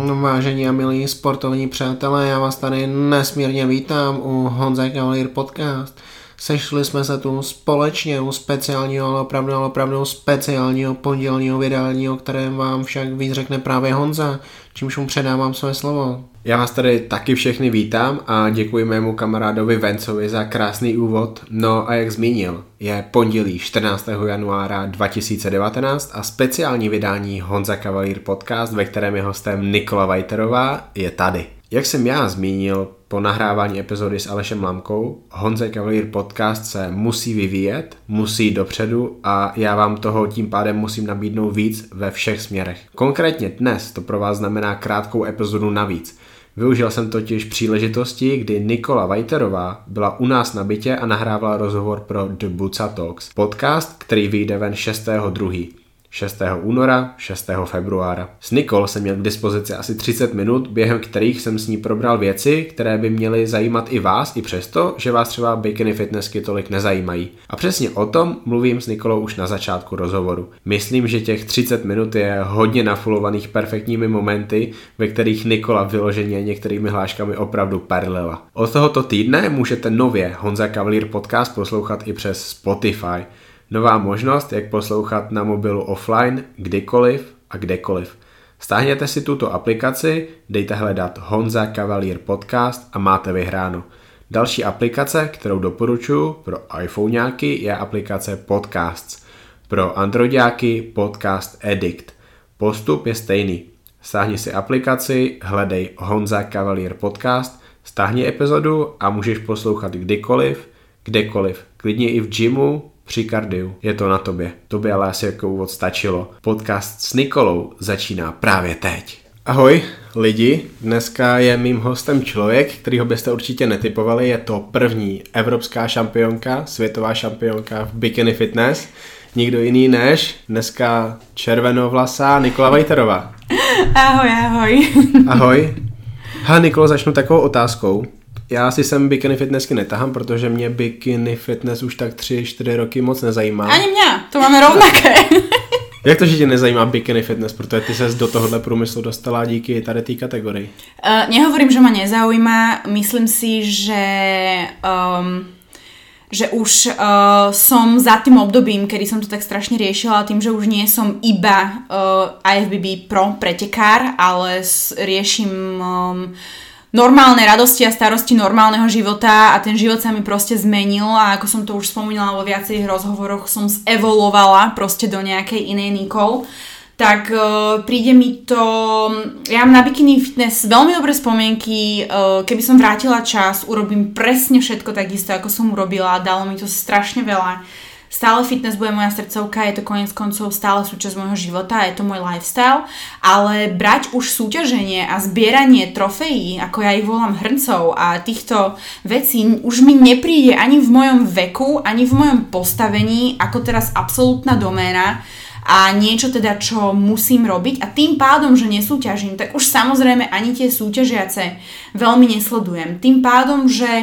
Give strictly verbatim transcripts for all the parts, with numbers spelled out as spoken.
Vážení a milí sportovní přátelé, já vás tady nesmírně vítám u Honza Cavalier Podcast. Sešli jsme se tu společně u speciálního, ale opravdu, ale opravdu speciálního pondělního vydání, o kterém vám však víc řekne právě Honza, čímž mu předávám své slovo. Já vás tady taky všechny vítám a děkuji mému kamarádovi Vencovi za krásný úvod. No a jak zmínil, je pondělí čtrnáctého januára dva tisíce devatenáct a speciální vydání Honza Cavalier Podcast, ve kterém je hostem Nikola Vajterová, je tady. Jak jsem já zmínil po nahrávání epizody s Alešem Lamkou, Honza Cavalier Podcast se musí vyvíjet, musí jít dopředu a já vám toho tím pádem musím nabídnout víc ve všech směrech. Konkrétně dnes to pro vás znamená krátkou epizodu navíc. Využil jsem totiž příležitosti, kdy Nikola Vajterová byla u nás na bytě a nahrávala rozhovor pro The Buca Talks, podcast, který vyjde ven šestého druhého šestého února, šestého februára. S Nikol jsem měl k dispozici asi třicet minut, během kterých jsem s ní probral věci, které by měly zajímat i vás, i přesto, že vás třeba bikini fitnessky tolik nezajímají. A přesně o tom mluvím s Nikolou už na začátku rozhovoru. Myslím, že těch třicet minut je hodně nafulovaných perfektními momenty, ve kterých Nikola vyloženě některými hláškami opravdu perlila. Od tohoto týdne můžete nově Honza Cavalier Podcast poslouchat i přes Spotify. Nová možnost, jak poslouchat na mobilu offline, kdykoliv a kdekoliv. Stáhněte si tuto aplikaci, dejte hledat Honza Cavalier Podcast a máte vyhráno. Další aplikace, kterou doporučuji pro iPhoneáky, je aplikace Podcasts. Pro Androidáky Podcast Addict. Postup je stejný. Stáhni si aplikaci, hledej Honza Cavalier Podcast, stáhni epizodu a můžeš poslouchat kdykoliv, kdekoliv. Klidně i v gymu, při kardiu. Je to na tobě. To by ale asi jako úvod stačilo. Podcast s Nikolou začíná právě teď. Ahoj lidi, dneska je mým hostem člověk, kterýho byste určitě netipovali. Je to první evropská šampionka, světová šampionka v bikini fitness. Nikdo jiný než dneska červenovlasá Nikola Vajterová. Ahoj, ahoj. Ahoj. Ha, Nikolo, začnu takovou otázkou. Já si sem bikini fitnessky netahám, protože mě bikini fitness už tak tři čtyři roky moc nezajímá. Ani mě, to máme rovnaké. Jak to, že tě nezajímá bikini fitness, protože ty ses do tohohle průmyslu dostala díky tady té kategorii? Uh, nehovorím, že ma nezaujíma, myslím si, že... Um, že už uh, som za tým obdobím, kedy som to tak strašne riešila, tým, že už nie som iba uh, I F B B pro pretekár, ale s, riešim um, normálne radosti a starosti normálneho života a ten život sa mi proste zmenil a ako som to už spomínala vo viacerých rozhovoroch, som zevoluovala proste do nejakej inej Nikol. Tak uh, príde mi to, ja mám na bikini fitness veľmi dobré spomienky, uh, keby som vrátila čas, urobím presne všetko takisto, ako som urobila, dalo mi to strašne veľa. Stále fitness bude moja srdcovka, je to koniec koncov stále súčasť môjho života, je to môj lifestyle, ale brať už súťaženie a zbieranie trofejí, ako ja ich volám hrncov a týchto vecí, už mi nepríde ani v mojom veku, ani v mojom postavení, ako teraz absolútna doména, a niečo teda, čo musím robiť a tým pádom, že nesúťažím, tak už samozrejme ani tie súťažiace veľmi nesledujem. Tým pádom, že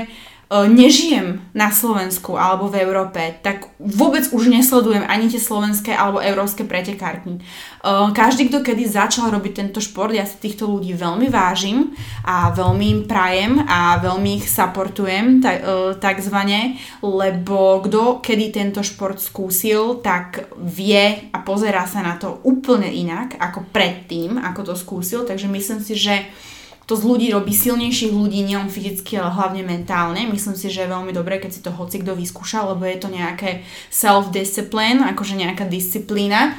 nežijem na Slovensku alebo v Európe, tak vôbec už nesledujem ani tie slovenské alebo európske pretekárky. Každý, kto kedy začal robiť tento šport, ja si týchto ľudí veľmi vážim a veľmi im prajem a veľmi ich supportujem, tak, takzvané, lebo kto kedy tento šport skúsil, tak vie a pozerá sa na to úplne inak ako predtým, ako to skúsil, takže myslím si, že to z ľudí robí silnejších ľudí, nielen fyzicky, ale hlavne mentálne. Myslím si, že je veľmi dobré, keď si to hoci kto vyskúša, lebo je to nejaké self-discipline, akože nejaká disciplína.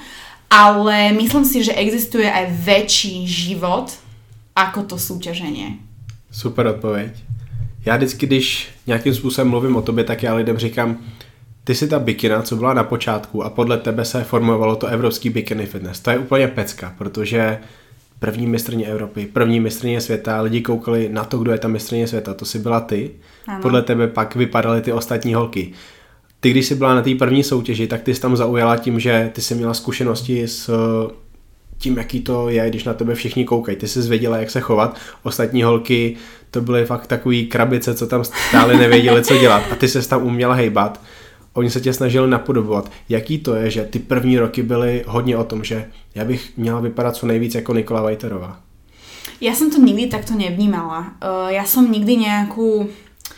Ale myslím si, že existuje aj väčší život ako to súťaženie. Super odpověď. Já vždycky, když nějakým způsobem mluvím o tobě, tak já lidem říkám, ty jsi ta bikina, co byla na počátku a podle tebe se formovalo to evropský bikini fitness. To je úplně pecka, protože první mistryně Evropy, první mistryně světa, lidi koukali na to, kdo je ta mistryně světa, to si byla ty. Ano. Podle tebe pak vypadaly ty ostatní holky. Ty, když jsi byla na té první soutěži, tak ty jsi tam zaujala tím, že ty jsi měla zkušenosti s tím, jaký to je, když na tebe všichni koukají. Ty jsi zvěděla, jak se chovat. Ostatní holky, to byly fakt takový krabice, co tam stále nevěděli, co dělat. A ty ses tam uměla hejbat. Oni se tě snažili napodobovat. Jaký to je, že ty první roky byly hodně o tom, že já bych měla vypadat co nejvíc jako Nikola Vajterová? Ja som to nikdy takto nevnímala. Uh, ja som nikdy nejakú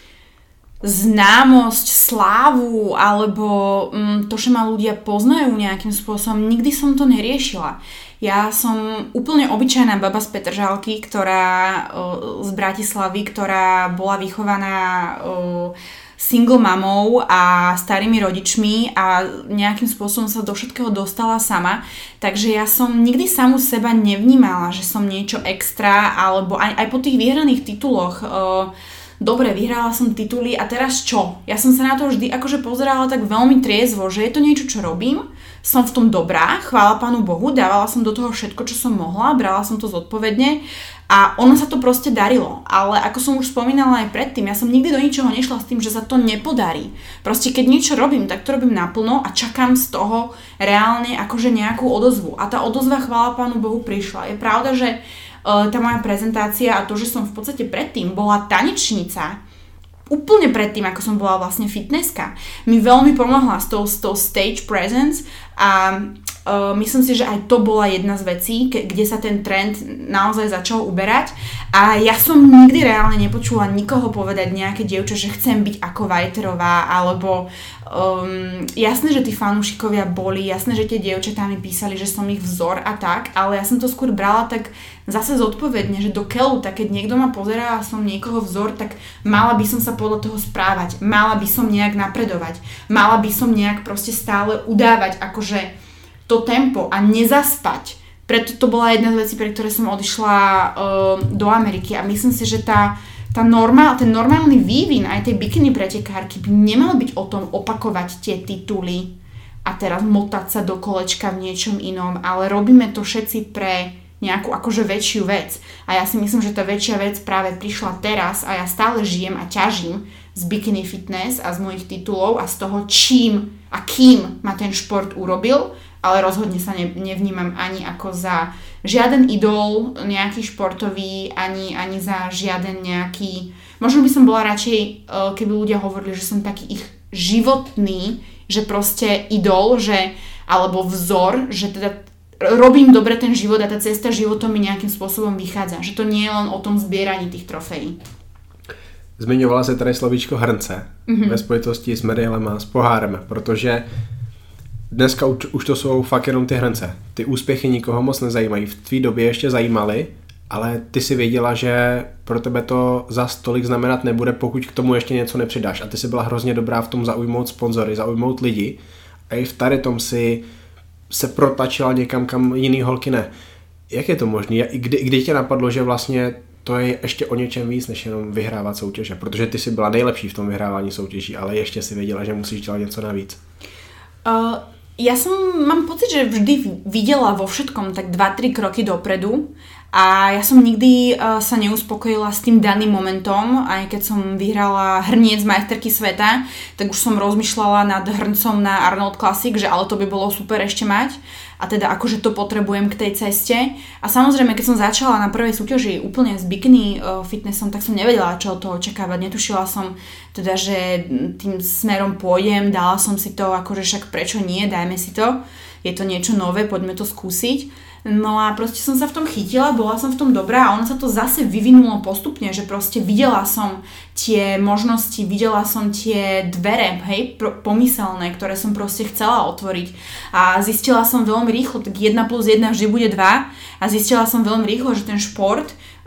známosť, slávu alebo um, to, že ma ľudia poznajú nejakým spôsobom, nikdy som to neriešila. Ja som úplne obyčajná baba z Petržalky, ktorá uh, z Bratislavy, ktorá bola vychovaná uh, single mamou a starými rodičmi a nejakým spôsobom sa do všetkého dostala sama. Takže ja som nikdy samu seba nevnímala, že som niečo extra, alebo aj, aj po tých vyhraných tituloch. Uh, dobre, vyhrala som tituly a teraz čo? Ja som sa na to vždy akože pozerala tak veľmi triezvo, že je to niečo, čo robím. Som v tom dobrá, chvála Pánu Bohu, dávala som do toho všetko, čo som mohla, brala som to zodpovedne a ono sa to proste darilo. Ale ako som už spomínala aj predtým, ja som nikdy do ničoho nešla s tým, že sa to nepodarí. Proste keď niečo robím, tak to robím naplno a čakám z toho reálne akože nejakú odozvu. A tá odozva, chvála Pánu Bohu, prišla. Je pravda, že uh, tá moja prezentácia a to, že som v podstate predtým bola tanečnica, úplne predtým, ako som bola vlastne fitnesska, mi veľmi pomohla s tou, s tou stage presence a uh, myslím si, že aj to bola jedna z vecí, ke, kde sa ten trend naozaj začal uberať a ja som nikdy reálne nepočula nikoho povedať nejaké dievča, že chcem byť ako Vajterová alebo um, jasné, že tí fanúšikovia boli, jasné, že tie dievčatá mi písali, že som ich vzor a tak, ale ja som to skôr brala tak zase zodpovedne, že do keľu, tak keď niekto ma pozerá a som niekoho vzor, tak mala by som sa podľa toho správať, mala by som nejak napredovať, mala by som nejak proste stále udávať akože to tempo a nezaspať. Preto to bola jedna z vecí, pre ktoré som odišla uh, do Ameriky a myslím si, že tá, tá normál, ten normálny vývin aj tej bikini pretekárky by nemal byť o tom opakovať tie tituly a teraz motať sa do kolečka v niečom inom, ale robíme to všetci pre nejakú akože väčšiu vec. A ja si myslím, že tá väčšia vec práve prišla teraz a ja stále žijem a ťažím z bikini fitness a z mojich titulov a z toho, čím a kým ma ten šport urobil, ale rozhodne sa ne, nevnímam ani ako za žiaden idol nejaký športový, ani, ani za žiaden nejaký... Možno by som bola radšej, keby ľudia hovorili, že som taký ich životný, že proste idol, že, alebo vzor, že teda robím dobre ten život a tá cesta životom mi nejakým spôsobom vychádza. Že to nie je len o tom zbieraní tých trofejí. Zmiňovala se tady slovíčko hrnce mm-hmm. ve spojitosti s medailemi a s pohárem, protože dneska už, už to jsou fakt jenom ty hrnce. Ty úspěchy nikoho moc nezajímají. V tvý době ještě zajímaly, ale ty si věděla, že pro tebe to za tolik znamenat nebude, pokud k tomu ještě něco nepřidáš. A ty si byla hrozně dobrá v tom zaujmout sponzory, zaujmout lidi. A i v tady tom si se protlačila někam, kam jiný holky ne. Jak je to možné? Kdy, kdy tě napadlo, že vlastně to je ještě o něčem víc, než jenom vyhrávat soutěže? Protože ty si byla nejlepší v tom vyhrávání soutěží, ale ještě si věděla, že musíš dělat něco navíc. Uh, ja som, mám pocit, že vždy videla vo všetkom tak dva tri kroky dopredu a ja som nikdy uh, sa neuspokojila s tým daným momentom, aj keď som vyhrala hrniec majsterky sveta, tak už som rozmýšľala nad hrncom na Arnold Classic, že ale to by bolo super ešte mať a teda akože to potrebujem k tej ceste a samozrejme keď som začala na prvej súťaži úplne s bikini uh, fitnessom, tak som nevedela, čo od toho očakávať, netušila som teda, že tým smerom pôjdem, dala som si to akože však prečo nie, dajme si to, je to niečo nové, poďme to skúsiť. No a proste som sa v tom chytila, bola som v tom dobrá a ono sa to zase vyvinulo postupne, že proste videla som tie možnosti, videla som tie dvere, hej, pomyselné, ktoré som proste chcela otvoriť a zistila som veľmi rýchlo, tak jedna plus jedna vždy bude dva a zistila som veľmi rýchlo, že ten šport,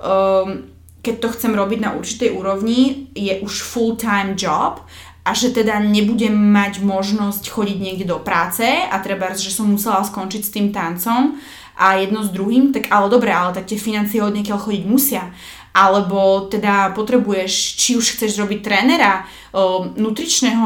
um, keď to chcem robiť na určitej úrovni, je už full-time job a že teda nebudem mať možnosť chodiť niekde do práce a treba, že som musela skončiť s tým tancom a jedno s druhým, tak ale dobre, ale tak tie financie od niekiaľ chodiť musia. Alebo teda potrebuješ, či už chceš robiť trénera, nutričného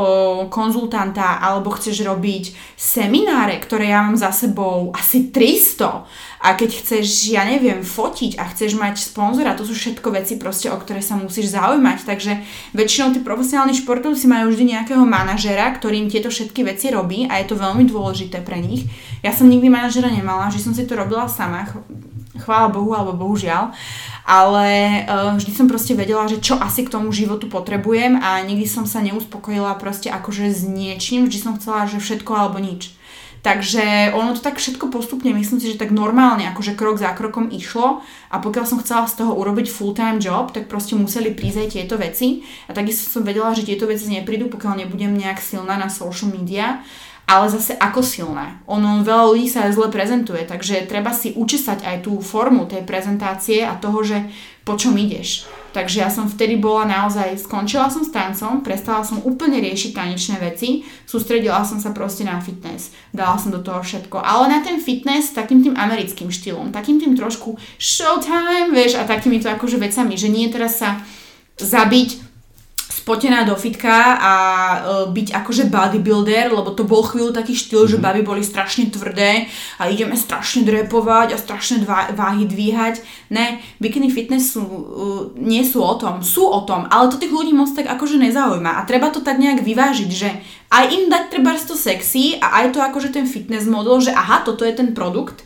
konzultanta, alebo chceš robiť semináre, ktoré ja mám za sebou asi tristo. A keď chceš, ja neviem, fotiť a chceš mať sponzora, to sú všetko veci proste, o ktoré sa musíš zaujímať. Takže väčšinou tí profesionálni športovci majú vždy nejakého manažera, ktorým tieto všetky veci robí a je to veľmi dôležité pre nich. Ja som nikdy manažera nemala, že som si to robila sama, chvála Bohu alebo bohužiaľ, ale uh, vždy som proste vedela, že čo asi k tomu životu potrebujem a nikdy som sa neuspokojila proste akože s niečím, vždy som chcela, že všetko alebo nič. Takže ono to tak všetko postupne, myslím si, že tak normálne, akože krok za krokom išlo a pokiaľ som chcela z toho urobiť full-time job, tak proste museli prísť aj tieto veci a takisto som vedela, že tieto veci neprídu, pokiaľ nebudem nejak silná na social media. Ale zase ako silné. Ono veľa ľudí sa aj zle prezentuje, takže treba si učesať aj tú formu tej prezentácie a toho, že po čom ideš. Takže ja som vtedy bola naozaj, skončila som s tancom, prestala som úplne riešiť tanečné veci, sústredila som sa proste na fitness, dala som do toho všetko. Ale na ten fitness takým tým americkým štýlom, takým tým trošku showtime, vieš, a takýmito akože vecami, že nie teraz sa zabiť spotená do fitka a e, byť akože bodybuilder, lebo to bol chvíľu taký štýl, mm-hmm. že baby boli strašne tvrdé a ideme strašne drepovať a strašne dva, váhy dvíhať. Ne, bikini fitness sú, e, nie sú o tom, sú o tom, ale to tých ľudí moc tak akože nezaujíma a treba to tak nejak vyvážiť, že aj im dať trebárs to sexy a aj to akože ten fitness model, že aha, toto je ten produkt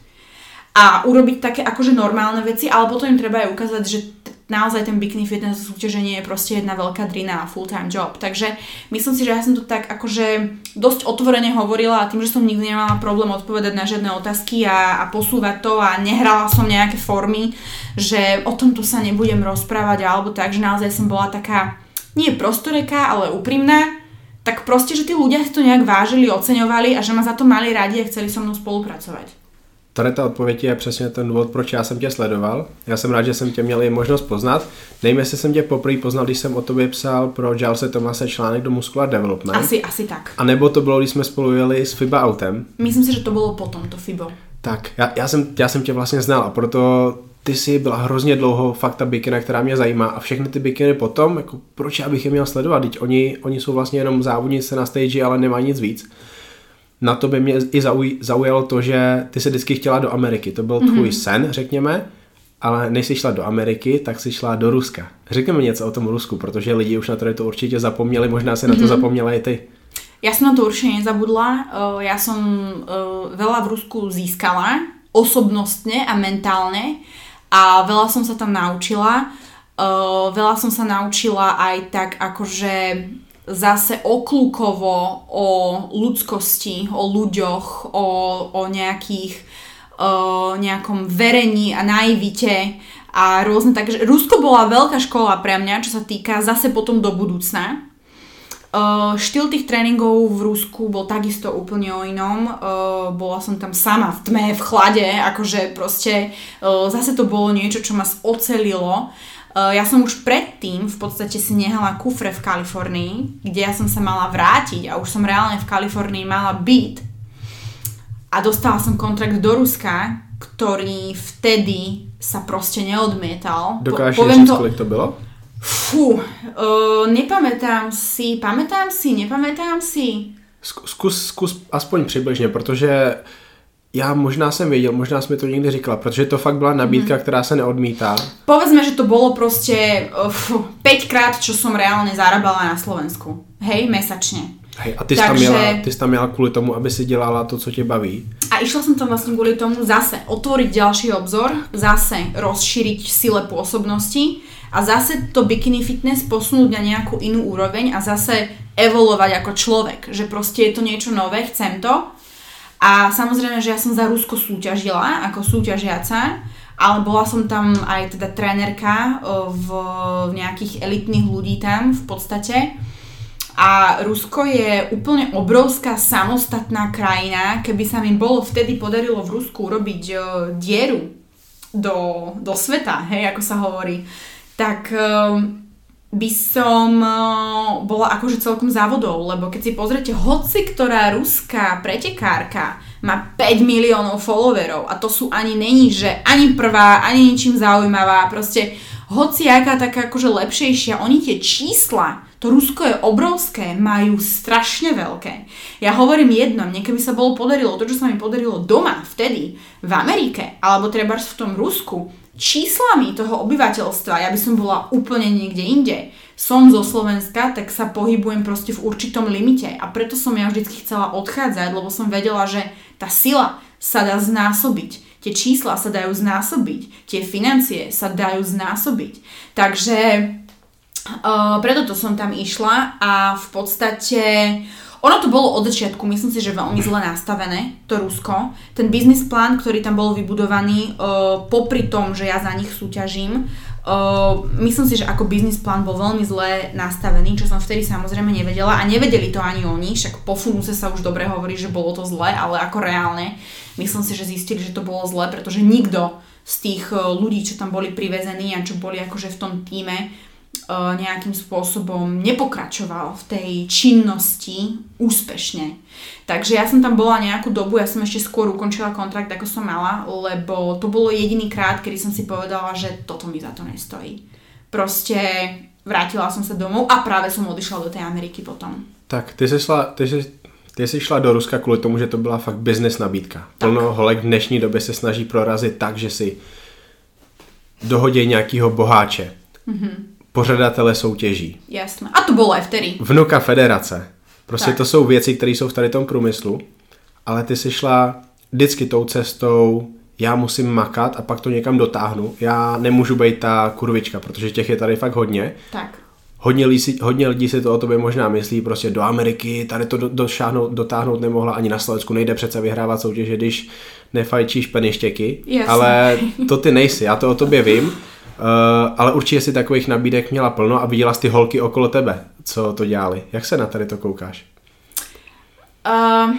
a urobiť také akože normálne veci, ale potom im treba aj ukázať, že naozaj ten bikini fitness súťaženie je proste jedna veľká drina a full-time job. Takže myslím si, že ja som to tak akože dosť otvorene hovorila a tým, že som nikdy nemala problém odpovedať na žiadne otázky a, a posúvať to a nehrala som nejaké formy, že o tomto sa nebudem rozprávať alebo tak, že naozaj som bola taká nie prostoreká, ale úprimná, tak proste, že tí ľudia si to nejak vážili, oceňovali a že ma za to mali radi a chceli so mnou spolupracovať. Tady ta odpověď je přesně ten důvod, proč já jsem tě sledoval. Já jsem rád, že jsem tě měl i možnost poznat. Nevím, jestli jsem tě poprvé poznal, když jsem o tobě psal pro Gilese Thomase článek do Muscular Development. Asi, asi tak. A nebo to bylo, když jsme spolu jeli s FIBA autem. Myslím si, že to bylo potom, to FIBO. Tak, já, já, jsem, já jsem tě vlastně znal a proto ty jsi byla hrozně dlouho fakt ta bikina, která mě zajímá a všechny ty bikiny potom, jako proč já bych je měl sledovat, teď oni, oni jsou vlastně jenom závodnice na stage, ale nemají nic víc. Na to by mě i zauj, zaujalo to, že ty se vždycky chtěla do Ameriky. To byl tvůj mm-hmm. sen, řekněme, ale než jsi šla do Ameriky, tak jsi šla do Ruska. Řekněme něco o tom Rusku, protože lidi už na to, to určitě zapomněli, možná se mm-hmm. na to zapomněla i ty. Ja som na to určite nezabudla. Ja som veľa v Rusku získala, osobnostne a mentálne a veľa som sa tam naučila. Veľa som sa naučila aj tak akože zase okľúkovo o ľudskosti, o ľuďoch, o, o nejakých o nejakom verení a naivite a rôzne, takže Rusko bola veľká škola pre mňa, čo sa týka zase potom do budúcna. Uh, štýl tých tréningov v Rusku bol takisto úplne o inom. Uh, bola som tam sama v tme, v chlade, akože proste uh, zase to bolo niečo, čo ma ocelilo. Uh, ja som už predtým v podstate si nehala kufre v Kalifornii, kde ja som sa mala vrátiť a už som reálne v Kalifornii mala byt a dostala som kontrakt do Ruska, ktorý vtedy sa proste neodmietal. Dokážeš po, říct, to... kolik to bylo? Fú, uh, nepamätám si, pamätám si, nepamätám si. Zkus, zkus aspoň přibližně, protože já možná jsem věděl, možná jsi mi to někdy říkala, protože to fakt byla nabídka, mm. která se neodmítá. Povedzme, že to bolo proste uh, päť krát, čo som reálne zarábala na Slovensku. Hej, mesačne. Hej, a ty jsi, Takže... tam měla, ty jsi tam měla kvůli tomu, aby si dělala to, co tě baví. A išla som tam vlastne kvôli tomu zase otvoriť ďalší obzor, zase rozšíriť sile pôsobnosti a zase to bikini fitness posunúť na nejakú inú úroveň a zase evolovať ako človek, že proste je to niečo nové, chcem to. A samozrejme, že ja som za Rusko súťažila ako súťažiaca, ale bola som tam aj teda trénerka v, v nejakých elitných ľudí tam v podstate. A Rusko je úplne obrovská samostatná krajina. Keby sa mi bolo vtedy podarilo v Rusku urobiť uh, dieru do, do sveta, hej, ako sa hovorí, tak uh, by som uh, bola akože celkom závodou, lebo keď si pozrete, hoci ktorá ruská pretekárka má päť miliónov followerov a to sú ani není, že ani prvá, ani ničím zaujímavá, proste hoci aká taká akože lepšejšia, oni tie čísla, to Rusko je obrovské, majú strašne veľké. Ja hovorím jedno, mne keby sa bolo podarilo to, čo sa mi podarilo doma, vtedy, v Amerike, alebo trebárs v tom Rusku, číslami toho obyvateľstva, ja by som bola úplne niekde inde. Som zo Slovenska, tak sa pohybujem proste v určitom limite a preto som ja vždycky chcela odchádzať, lebo som vedela, že tá sila sa dá znásobiť. Tie čísla sa dajú znásobiť, tie financie sa dajú znásobiť. Takže uh, preto to som tam išla a v podstate ono to bolo od začiatku, myslím si, že veľmi zle nastavené, to Rusko. Ten biznis plán, ktorý tam bol vybudovaný, uh, popri tom, že ja za nich súťažím, uh, myslím si, že ako biznis plán bol veľmi zle nastavený, čo som vtedy samozrejme nevedela a nevedeli to ani oni, však po funuse sa už dobre hovorí, že bolo to zle, ale ako reálne, myslím si, že zistili, že to bolo zle, pretože nikto z tých ľudí, čo tam boli privezení a čo boli akože v tom tíme, nejakým spôsobom nepokračoval v tej činnosti úspešne. Takže ja som tam bola nejakú dobu, ja som ešte skôr ukončila kontrakt, ako som mala, lebo to bolo jediný krát, kedy som si povedala, že toto mi za to nestojí. Proste vrátila som sa domov a práve som odišla do tej Ameriky potom. Tak, ty jsi šla, ty jsi, ty jsi šla do Ruska kvůli tomu, že to byla fakt business nabídka. Plno holek v dnešní době se snaží prorazit tak, že si dohodí nějakýho boháče. Mm-hmm. Pořadatele soutěží. Jasné. A to bylo aj vtedy. Vnuka federace. Prostě tak. To jsou věci, které jsou v tady tom průmyslu, ale ty si šla vždycky tou cestou, já musím makat a pak to někam dotáhnu. Já nemůžu být ta kurvička, protože těch je tady fakt hodně. Tak. Hodně, lidí, hodně lidí si to o tobě možná myslí, prostě do Ameriky, tady to do, došáhnout, dotáhnout nemohla, ani na Slovensku nejde přece vyhrávat soutěže, když nefajčíš peništěky, Jasně. ale to ty nejsi, já to o tobě vím. Uh, ale určitě si takových nabídek měla plno a viděla jsi ty holky okolo tebe, co to dělali. Jak se na tady to koukáš? Uh,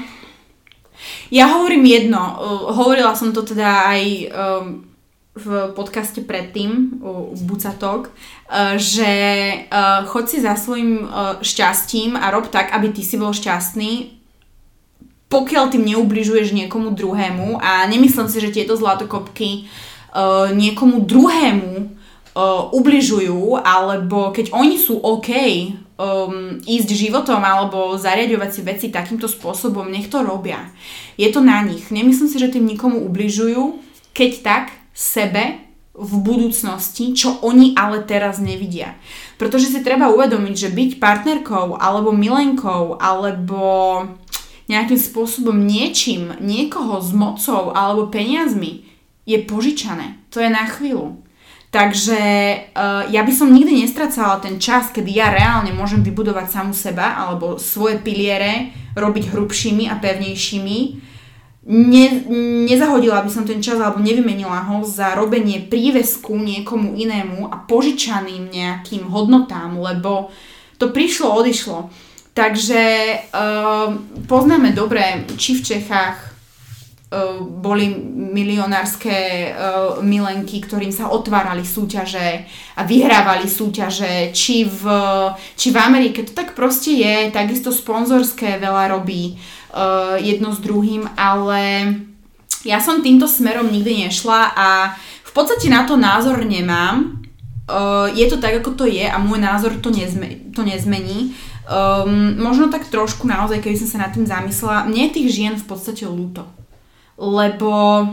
ja hovorím jedno, uh, hovorila som to teda aj um, v podcaste predtým, u Bucatok, uh, že uh, choď si za svojím uh, šťastím a rob tak, aby ty si bol šťastný, pokiaľ tým neubližuješ niekomu druhému a nemyslím si, že tieto zlatokopky Uh, niekomu druhému uh, ubližujú, alebo keď oni sú OK um, ísť životom alebo zariaďovať si veci takýmto spôsobom, nech to robia. Je to na nich. Nemyslím si, že tým nikomu ubližujú, keď tak sebe v budúcnosti, čo oni ale teraz nevidia. Pretože si treba uvedomiť, že byť partnerkou alebo milenkou alebo nejakým spôsobom niečím, niekoho s mocou alebo peniazmi je požičané. To je na chvíľu. Takže uh, ja by som nikdy nestracala ten čas, kedy ja reálne môžem vybudovať samu seba alebo svoje piliere robiť hrubšími a pevnejšími. Ne, nezahodila by som ten čas alebo nevymenila ho za robenie prívesku niekomu inému a požičaným nejakým hodnotám, lebo to prišlo, odišlo. Takže uh, poznáme dobre, či v Čechách boli milionárske uh, milenky, ktorým sa otvárali súťaže a vyhrávali súťaže, či v, či v Amerike. To tak proste je, takisto sponzorské veľa robí uh, jedno s druhým, ale ja som týmto smerom nikdy nešla a v podstate na to názor nemám. Uh, je to tak, ako to je a môj názor to, nezme, to nezmení. Um, možno tak trošku naozaj, keby som sa nad tým zamyslela, mne je tých žien v podstate ľúto. Lebo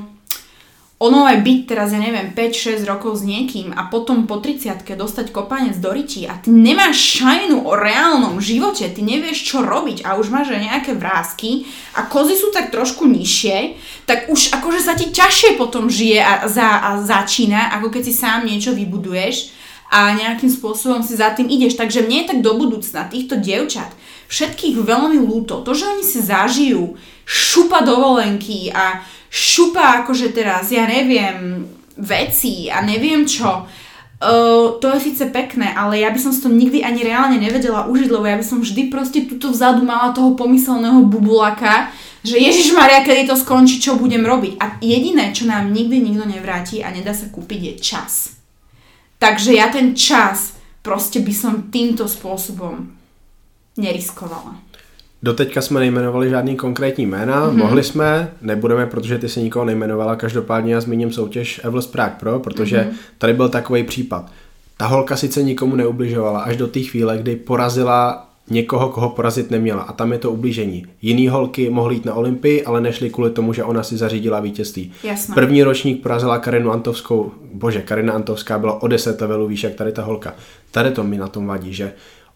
ono aj byť teraz, ja neviem, päť šesť rokov s niekým a potom po tridsiatke dostať kopanec do rytí a ty nemáš šajnu o reálnom živote, ty nevieš čo robiť a už máš nejaké vrásky a kozy sú tak trošku nižšie, tak už akože sa ti ťažšie potom žije a, za, a začína, ako keď si sám niečo vybuduješ a nejakým spôsobom si za tým ideš. Takže mne je tak do budúcna týchto dievčat všetkých veľmi ľúto. To, že oni si zažijú šupa dovolenky a šupa akože teraz, ja neviem, veci a neviem čo, uh, to je síce pekné, ale ja by som si to nikdy ani reálne nevedela užiť, lebo ja by som vždy proste tuto vzadu mala toho pomyselného bubulaka, že Ježišmaria, kedy to skončí, čo budem robiť. A jediné, čo nám nikdy nikto nevráti a nedá sa kúpiť, je čas. Takže ja ten čas proste by som týmto spôsobom neriskovala. Doteďka jsme nejmenovali žádný konkrétní jména, mm-hmm. mohli jsme, nebudeme, protože ty si nikoho nejmenovala, každopádně já zmíním soutěž Evlos Prague Pro, protože mm-hmm. tady byl takový případ. Ta holka sice nikomu neubližovala až do té chvíle, kdy porazila někoho, koho porazit neměla a tam je to ublížení. Jiný holky mohly jít na Olympii, ale nešly kvůli tomu, že ona si zařídila vítězství. Jasné. První ročník porazila Karinu Antovskou, bože, Karina Antovská byla o deset levelů výš jak tady ta holka. Tady to mi na tom vadí, že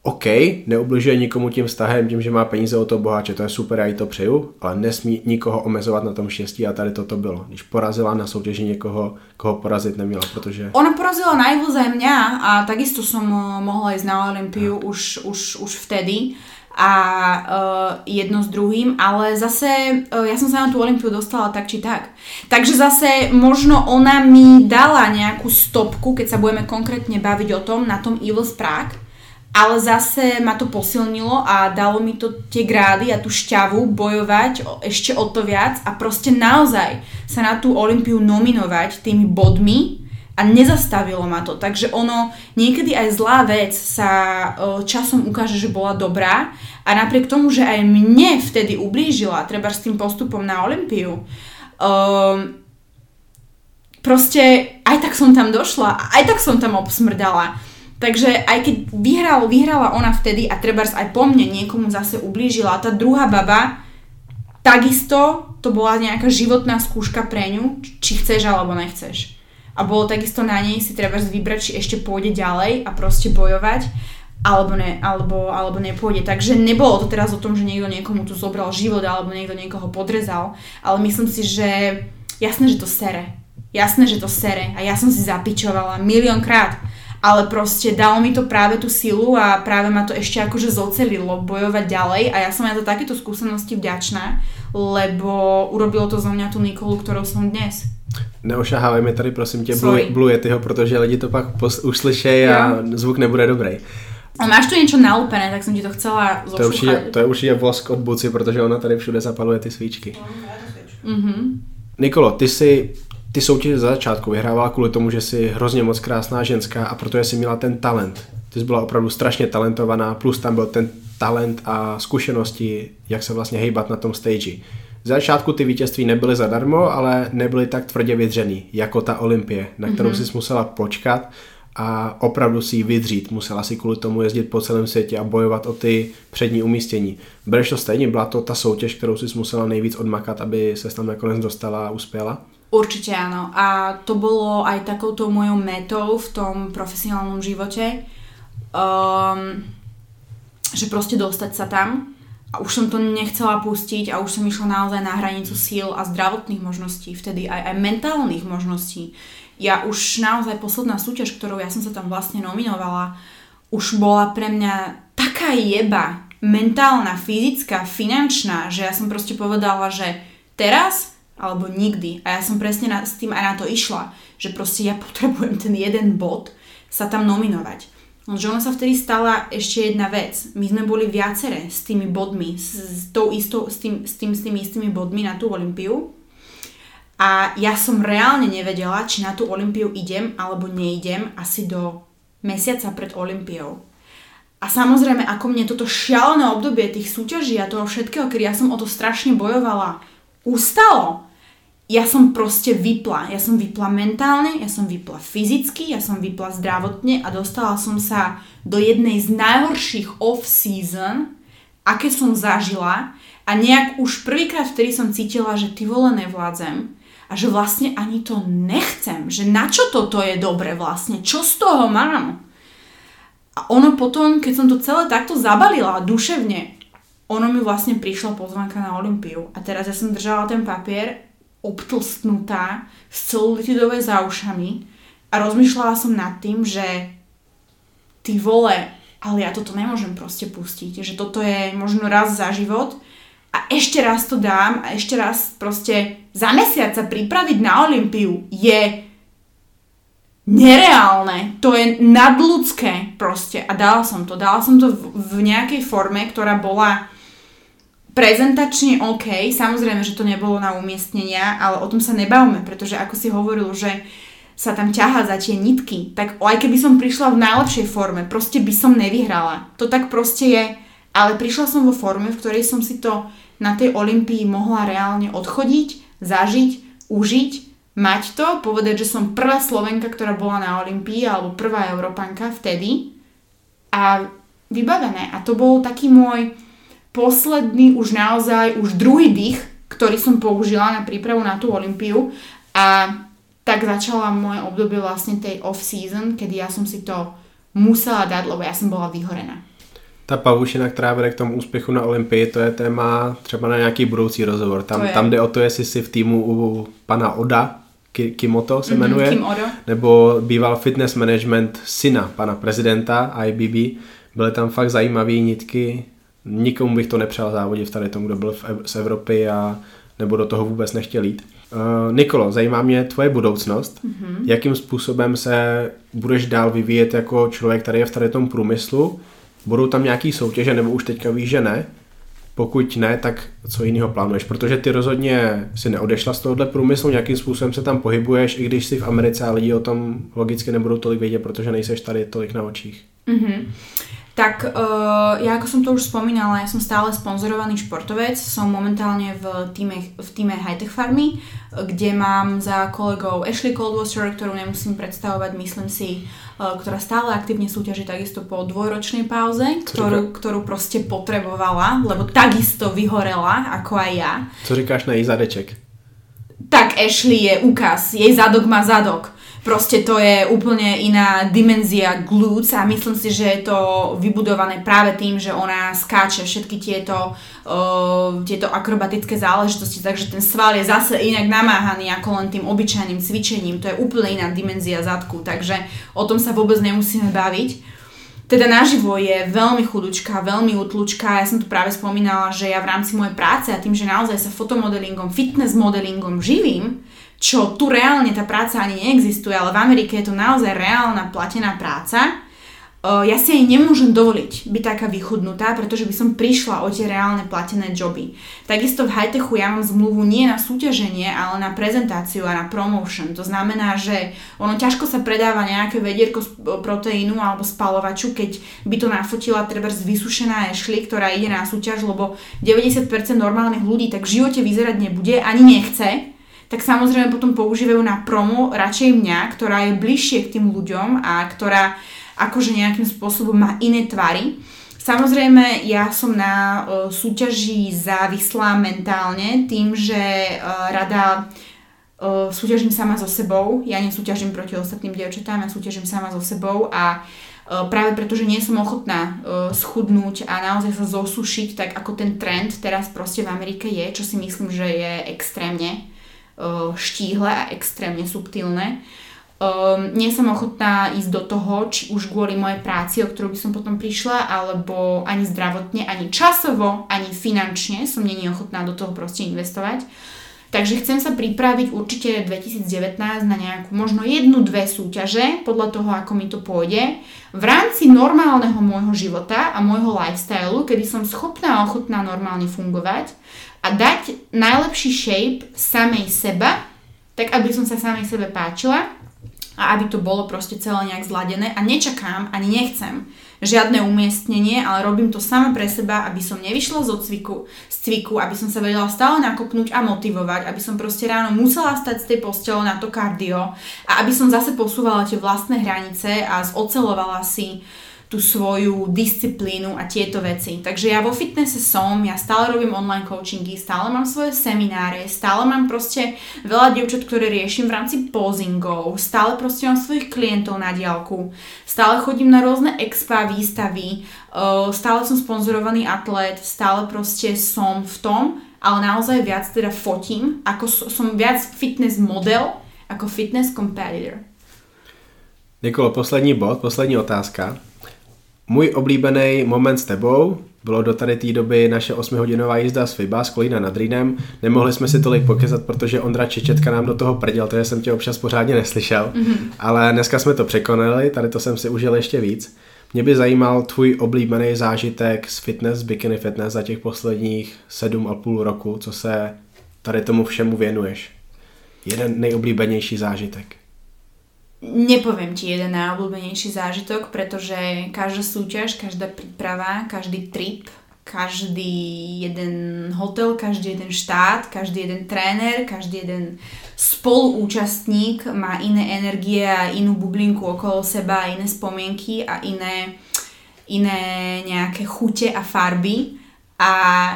OK, neubližuje nikomu tím vztahem, tím, že má peníze od toho boháče, to je super, já jí to přeju, ale nesmí nikoho omezovat na tom štěstí a tady toto bylo. Když porazila na soutěži někoho, koho porazit neměla, protože... Ona porazila najviac aj mňa a takisto som mohla ísť na Olympiu už, už, už vtedy a uh, jedno s druhým, ale zase uh, ja som sa na tú Olympiu dostala tak či tak. Takže zase možno ona mi dala nejakú stopku, keď sa budeme konkrétne baviť o tom, na tom Evils Prague, ale zase ma to posilnilo a dalo mi to tie grády a tú šťavu bojovať ešte o to viac a proste naozaj sa na tú Olympiu nominovať tými bodmi a nezastavilo ma to. Takže ono, niekedy aj zlá vec sa časom ukáže, že bola dobrá a napriek tomu, že aj mne vtedy ublížila, treba s tým postupom na Olympiu, um, proste aj tak som tam došla, aj tak som tam obsmrdala. Takže aj keď vyhral, vyhrala ona vtedy a trebárs aj po mne niekomu zase ublížila, tá druhá baba, takisto to bola nejaká životná skúška pre ňu, či chceš alebo nechceš. A bolo takisto na nej si trebárs vybrať, či ešte pôjde ďalej a proste bojovať, alebo, ne, alebo, alebo nepôjde. Takže nebolo to teraz o tom, že niekto niekomu tu zobral život alebo niekto niekoho podrezal, ale myslím si, že jasné, že to sere. Jasné, že to sere a ja som si zapičovala miliónkrát. Ale proste dalo mi to práve tú silu a práve ma to ešte akože zocelilo bojovať ďalej a ja som aj za takéto skúsenosti vďačná, lebo urobilo to zo mňa tú Nikolu, ktorou som dnes. Neošahávaj mi tady prosím tě Blue, Blue Yetiho, protože lidi to pak pos- uslyšej a zvuk nebude dobrý. A máš tu niečo nalúpené, tak som ti to chcela zošúchať. To je určitě, to je určitě vosk od Buci, protože ona tady všude zapaluje ty svíčky. Mm-hmm. Nikolo, ty si ty soutěže za začátku vyhrávala kvůli tomu, že jsi hrozně moc krásná ženská a protože jsi měla ten talent. Ty jsi byla opravdu strašně talentovaná, plus tam byl ten talent a zkušenosti, jak se vlastně hejbat na tom stage. Za začátku ty vítězství nebyly zadarmo, ale nebyly tak tvrdě vydřený, jako ta Olympie, na kterou mm-hmm. jsi musela počkat a opravdu si ji vydřít. Musela si kvůli tomu jezdit po celém světě a bojovat o ty přední umístění. Bereš to stejně? Byla to ta soutěž, kterou jsi musela nejvíc odmakat, aby ses tam nakonec dostala a uspěla? Určite áno. A to bolo aj takouto mojou metou v tom profesionálnom živote, um, že proste dostať sa tam a už som to nechcela pustiť a už som išla naozaj na hranicu síl a zdravotných možností, vtedy aj, aj mentálnych možností. Ja už naozaj posledná súťaž, ktorou ja som sa tam vlastne nominovala, už bola pre mňa taká jeba, mentálna, fyzická, finančná, že ja som proste povedala, že teraz alebo nikdy. A ja som presne na, s tým aj na to išla, že proste ja potrebujem ten jeden bod sa tam nominovať. Lenže ona sa vtedy stala ešte jedna vec. My sme boli viaceré s tými bodmi, s, s, tou istou, s, tým, s, tým, s tými istými bodmi na tú Olympiu. A ja som reálne nevedela, či na tú Olympiu idem alebo neidem asi do mesiaca pred Olympiou. A samozrejme, ako mne toto šialené obdobie tých súťaží a toho všetkého, keď ja som o to strašne bojovala, ustalo. Ja som proste vypla. Ja som vypla mentálne, ja som vypla fyzicky, ja som vypla zdravotne a dostala som sa do jednej z najhorších off-season, aké som zažila a nejak už prvýkrát vtedy som cítila, že ty vole nevládzem a že vlastne ani to nechcem, že na čo toto je dobre vlastne, čo z toho mám? A ono potom, keď som to celé takto zabalila duševne, ono mi vlastne prišla pozvánka na Olympiu a teraz ja som držala ten papier obtlstnutá s celulitidové za ušami a rozmýšľala som nad tým, že ty vole, ale ja toto nemôžem proste pustiť, že toto je možno raz za život a ešte raz to dám a ešte raz proste za mesiac sa pripraviť na Olympiu je nereálne, to je nadľudské proste a dala som to, dala som to v, v nejakej forme, ktorá bola prezentačne OK, samozrejme, že to nebolo na umiestnenia, ale o tom sa nebavme, pretože ako si hovoril, že sa tam ťahá za tie nitky, tak aj keby som prišla v najlepšej forme, proste by som nevyhrala. To tak proste je, ale prišla som vo forme, v ktorej som si to na tej Olympii mohla reálne odchodiť, zažiť, užiť, mať to, povedať, že som prvá Slovenka, ktorá bola na Olympii, alebo prvá Európanka vtedy a vybavené. A to bol taký môj posledný, už naozaj, už druhý dých, ktorý som použila na prípravu na tú Olympiu a tak začala moje obdobie vlastne tej off-season, kedy ja som si to musela dať, lebo ja som bola vyhorená. Ta pavušina, která vede k tomu úspěchu na Olympii, to je téma třeba na nějaký budoucí rozhovor. Tam, tam jde o to, jestli si v týmu u pana Oda, Kimoto se jmenuje, mm-hmm, Kim nebo býval fitness management syna pana prezidenta I B B. Byly tam fakt zajímavé nitky. Nikomu bych to nepřál závodit v tady tomu, kdo byl v, z Evropy a nebo do toho vůbec nechtěl jít. Uh, Nikolo, zajímá mě tvoje budoucnost. Mm-hmm. Jakým způsobem se budeš dál vyvíjet jako člověk, který je v tady tom průmyslu? Budou tam nějaký soutěže, nebo už teďka víš, že ne? Pokud ne, tak co jiného plánuješ? Protože ty rozhodně si neodešla z tohohle průmyslu, nějakým způsobem se tam pohybuješ, i když jsi v Americe a lidi o tom logicky nebudou tolik vědět, protože nejseš tady tolik na očích. Mm-hmm. Tak uh, ja ako som to už spomínala, ja som stále sponzorovaný športovec, som momentálne v týme, v týme Hightech Farmy, kde mám za kolegou Ashley Coldwater, ktorú nemusím predstavovať, myslím si, uh, ktorá stále aktívne súťaží takisto po dvojročnej pauze, ktorú, ktorú proste potrebovala, lebo takisto vyhorela, ako aj ja. Co říkáš na jej zadeček? Tak Ashley je úkaz, jej zadok má zadok. Proste to je úplne iná dimenzia glutes a myslím si, že je to vybudované práve tým, že ona skáče všetky tieto, uh, tieto akrobatické záležitosti, takže ten sval je zase inak namáhaný ako len tým obyčajným cvičením. To je úplne iná dimenzia zadku, takže o tom sa vôbec nemusíme baviť. Teda naživo je veľmi chudučká, veľmi utlučká. Ja som tu práve spomínala, že ja v rámci mojej práce a tým, že naozaj sa fotomodelingom, fitness modelingom živím, čo tu reálne tá práca ani neexistuje, ale v Amerike je to naozaj reálna platená práca, ja si aj nemôžem dovoliť byť taká vychudnutá, pretože by som prišla o tie reálne platené joby. Takisto v high-techu ja mám zmluvu nie na súťaženie, ale na prezentáciu a na promotion. To znamená, že ono ťažko sa predáva nejaké vedierko z proteínu alebo spalovaču, keď by to nafotila trebárs vysušená Ashley, ktorá ide na súťaž, lebo deväťdesiat percent normálnych ľudí tak v živote vyzerať nebude, ani nechce, tak samozrejme potom používajú na promo radšej mňa, ktorá je bližšie k tým ľuďom a ktorá akože nejakým spôsobom má iné tvary. Samozrejme, ja som na uh, súťaži závislá mentálne tým, že uh, rada uh, súťažím sama so sebou. Ja nesúťažím proti ostatným dievčatám, ja súťažím sama so sebou a uh, práve preto, že nie som ochotná uh, schudnúť a naozaj sa zosušiť, tak ako ten trend teraz proste v Amerike je, čo si myslím, že je extrémne štíhle a extrémne subtilné. Um, nie som ochotná ísť do toho, či už kvôli mojej práci, o ktorú by som potom prišla, alebo ani zdravotne, ani časovo, ani finančne som nie ochotná do toho proste investovať. Takže chcem sa pripraviť určite dvetisíc devätnásť na nejakú možno jednu, dve súťaže, podľa toho, ako mi to pôjde, v rámci normálneho môjho života a môjho lifestylu, kedy som schopná a ochotná normálne fungovať a dať najlepší shape samej seba, tak aby som sa samej sebe páčila a aby to bolo proste celé nejak zladené a nečakám, ani nechcem žiadne umiestnenie, ale robím to sama pre seba, aby som nevyšla z odcviku, z cviku, aby som sa vedela stále nakopnúť a motivovať, aby som proste ráno musela stať z tej postele na to kardio a aby som zase posúvala tie vlastné hranice a zocelovala si tú svoju disciplínu a tieto veci. Takže ja vo fitnesse som, ja stále robím online coachingy, stále mám svoje semináre, stále mám proste veľa dievčat, ktoré riešim v rámci posingov, stále proste mám svojich klientov na diaľku, stále chodím na rôzne expa, výstavy, stále som sponzorovaný atlét, stále proste som v tom, ale naozaj viac teda fotím, ako som viac fitness model, ako fitness competitor. Nikolo, poslední bod, poslední otázka. Můj oblíbený moment s tebou bylo do tady té doby naše osmihodinová jízda z FIBA z Kolína nad Rýnem. Nemohli jsme si tolik pokezat, protože Ondra Čečetka nám do toho prděl, takže jsem tě občas pořádně neslyšel. Mm-hmm. Ale dneska jsme to překonali, tady to jsem si užil ještě víc. Mě by zajímal tvůj oblíbený zážitek z fitness, bikini fitness za těch posledních sedm a půl roku, co se tady tomu všemu věnuješ. Jeden nejoblíbenější zážitek. Nepoviem ti jeden najobľúbenejší zážitok, pretože každá súťaž, každá príprava, každý trip, každý jeden hotel, každý jeden štát, každý jeden tréner, každý jeden spoluúčastník má iné energie a inú bublinku okolo seba, iné spomienky a iné, iné nejaké chute a farby. A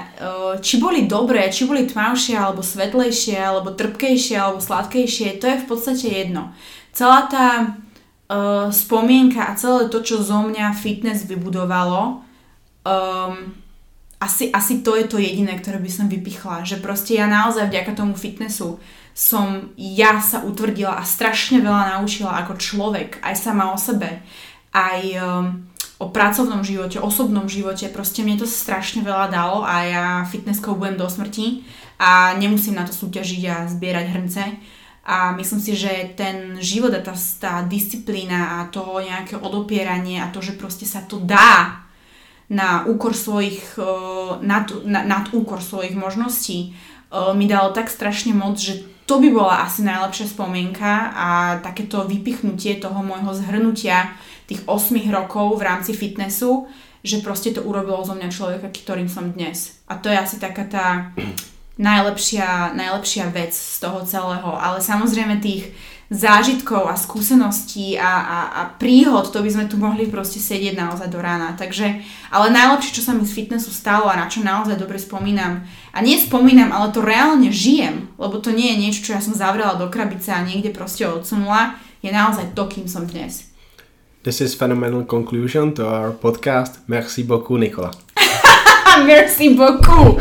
či boli dobré, či boli tmavšie, alebo svetlejšie, alebo trpkejšie, alebo sladkejšie, to je v podstate jedno. Celá tá uh, spomienka a celé to, čo zo mňa fitness vybudovalo, um, asi, asi to je to jediné, ktoré by som vypichla, že proste ja naozaj vďaka tomu fitnessu som ja sa utvrdila a strašne veľa naučila ako človek, aj sama o sebe, aj um, o pracovnom živote, osobnom živote, proste mne to strašne veľa dalo a ja fitnesskou budem do smrti a nemusím na to súťažiť a zbierať hrnce. A myslím si, že ten život a tá, tá disciplína a to nejaké odopieranie a to, že proste sa to dá na úkor svojich, nad, nad úkor svojich možností, mi dalo tak strašne moc, že to by bola asi najlepšia spomienka a takéto vypichnutie toho môjho zhrnutia tých osem rokov v rámci fitnessu, že proste to urobilo zo mňa človeka, ktorým som dnes. A to je asi taká tá najlepšia, najlepšia vec z toho celého. Ale samozrejme tých zážitkov a skúseností a, a, a príhod, to by sme tu mohli proste sedieť naozaj do rána. Takže, ale najlepšie, čo sa mi z fitnessu stalo a na čo naozaj dobre spomínam, a nie spomínam, ale to reálne žijem, lebo to nie je niečo, čo ja som zavrela do krabice a niekde proste odsunula, je naozaj to, kým som dnes. This is phenomenal conclusion to our podcast. Merci beaucoup, Nikola. Merci beaucoup.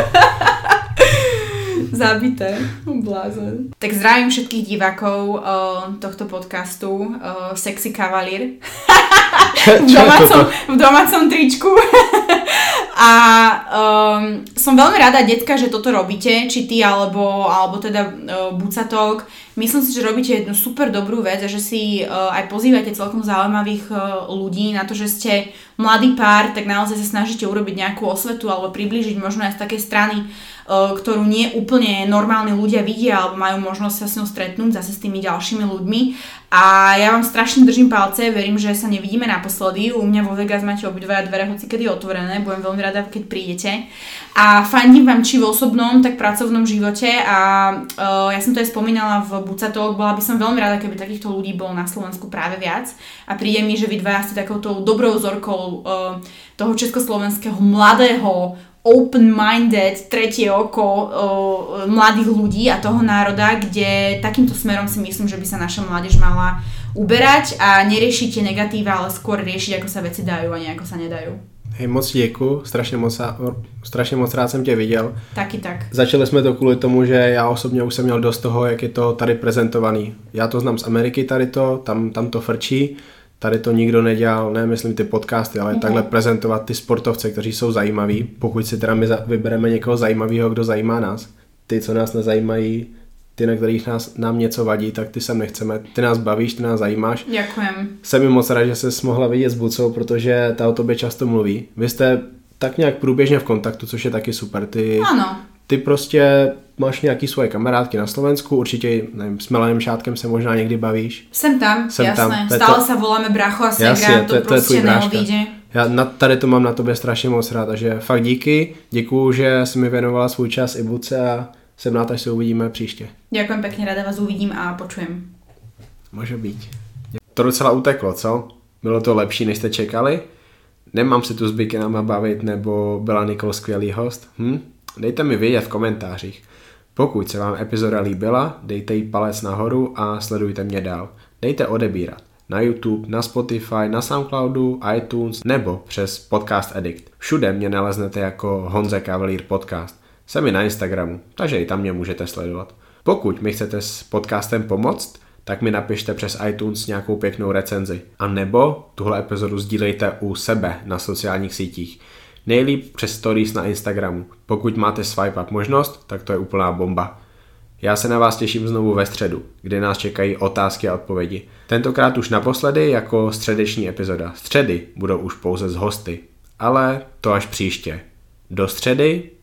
Zabité, blázen. Tak zdravím všetkých divákov uh, tohto podcastu uh, Sexy Kavalír v, domácom, v domácom tričku. A um, som veľmi rada, decka, že toto robíte, či ty, alebo, alebo teda uh, Bucatok. Myslím si, že robíte jednu super dobrú vec a že si uh, aj pozývate celkom zaujímavých uh, ľudí na to, že ste mladý pár, tak naozaj sa snažíte urobiť nejakú osvetu alebo priblížiť možno aj z takej strany, uh, ktorú nie úplne normálni ľudia vidia alebo majú možnosť sa s ňou stretnúť zase s tými ďalšími ľuďmi. A ja vám strašne držím palce, verím, že sa nevidíme naposledy. U mňa vo Vegas máte obidvaja dvere hocikedy otvorené, budem veľmi rada, keď prídete. A fandím vám či v osobnom, tak pracovnom živote a uh, ja som to aj spomínala v Bucatok, bola by som veľmi rada, keby takýchto ľudí bolo na Slovensku práve viac. A príde mi, že vy dvaja ste takouto dobrou vzorkou uh, toho československého mladého, open-minded, tretie oko uh, mladých ľudí a toho národa, kde takýmto smerom si myslím, že by sa naša mládež mala uberať a neriešiť tie negatíva, ale skôr riešiť, ako sa veci dajú a nie ako sa nedajú. Hej, moc děkuju, strašně moc, strašně moc rád jsem tě viděl. Taky tak. Začali jsme to kvůli tomu, že já osobně už jsem měl dost toho, jak je to tady prezentovaný. Já to znám z Ameriky tady to, tam, tam to frčí, tady to nikdo nedělal, ne myslím ty podcasty, ale mm-hmm. takhle prezentovat ty sportovce, kteří jsou zajímaví, pokud si teda my vybereme někoho zajímavého, kdo zajímá nás. Ty, co nás nezajímají, ty, na kterých nás, nám něco vadí, tak ty sem nechceme. Ty nás bavíš, ty nás zajímáš. Děkujem. Jsem mi moc rád, že ses mohla vidět s Bucou, protože ta o tobě často mluví. Vy jste tak nějak průběžně v kontaktu, což je taky super. Ty, ano. Ty prostě máš nějaký svoje kamarádky na Slovensku, určitě nevím, s Milanem Šátkem se možná někdy bavíš. Jsem tam, Jsem jasné. tam. Stále to... sa voláme bracho a segra, Jasně, to, to, to to je tvůj prostě bráška. neodíde. Já na, tady to mám na tobě strašně moc rád, takže fakt díky, děkuju, že jsi mi věnovala svůj čas i Buce a jsem rád, až se uvidíme příště. Ďakujem pekne, rada vás uvidím a počujem. Může být. To docela uteklo, co? Bylo to lepší, než jste čekali? Nemám se tu s bikinama bavit, nebo byla Nikol skvělý host? Hm? Dejte mi vědět v komentářích. Pokud se vám epizoda líbila, dejte jí palec nahoru a sledujte mě dál. Dejte odebírat na YouTube, na Spotify, na Soundcloudu, iTunes nebo přes Podcast Addict. Všude mě naleznete jako Honza Kavalír Podcast. Jsem i na Instagramu, takže i tam mě můžete sledovat. Pokud mi chcete s podcastem pomoct, tak mi napište přes iTunes nějakou pěknou recenzi. A nebo tuhle epizodu sdílejte u sebe na sociálních sítích. Nejlíp přes stories na Instagramu. Pokud máte swipe up možnost, tak to je úplná bomba. Já se na vás těším znovu ve středu, kde nás čekají otázky a odpovědi. Tentokrát už naposledy jako středeční epizoda. Středy budou už pouze s hosty, ale to až příště. Do středy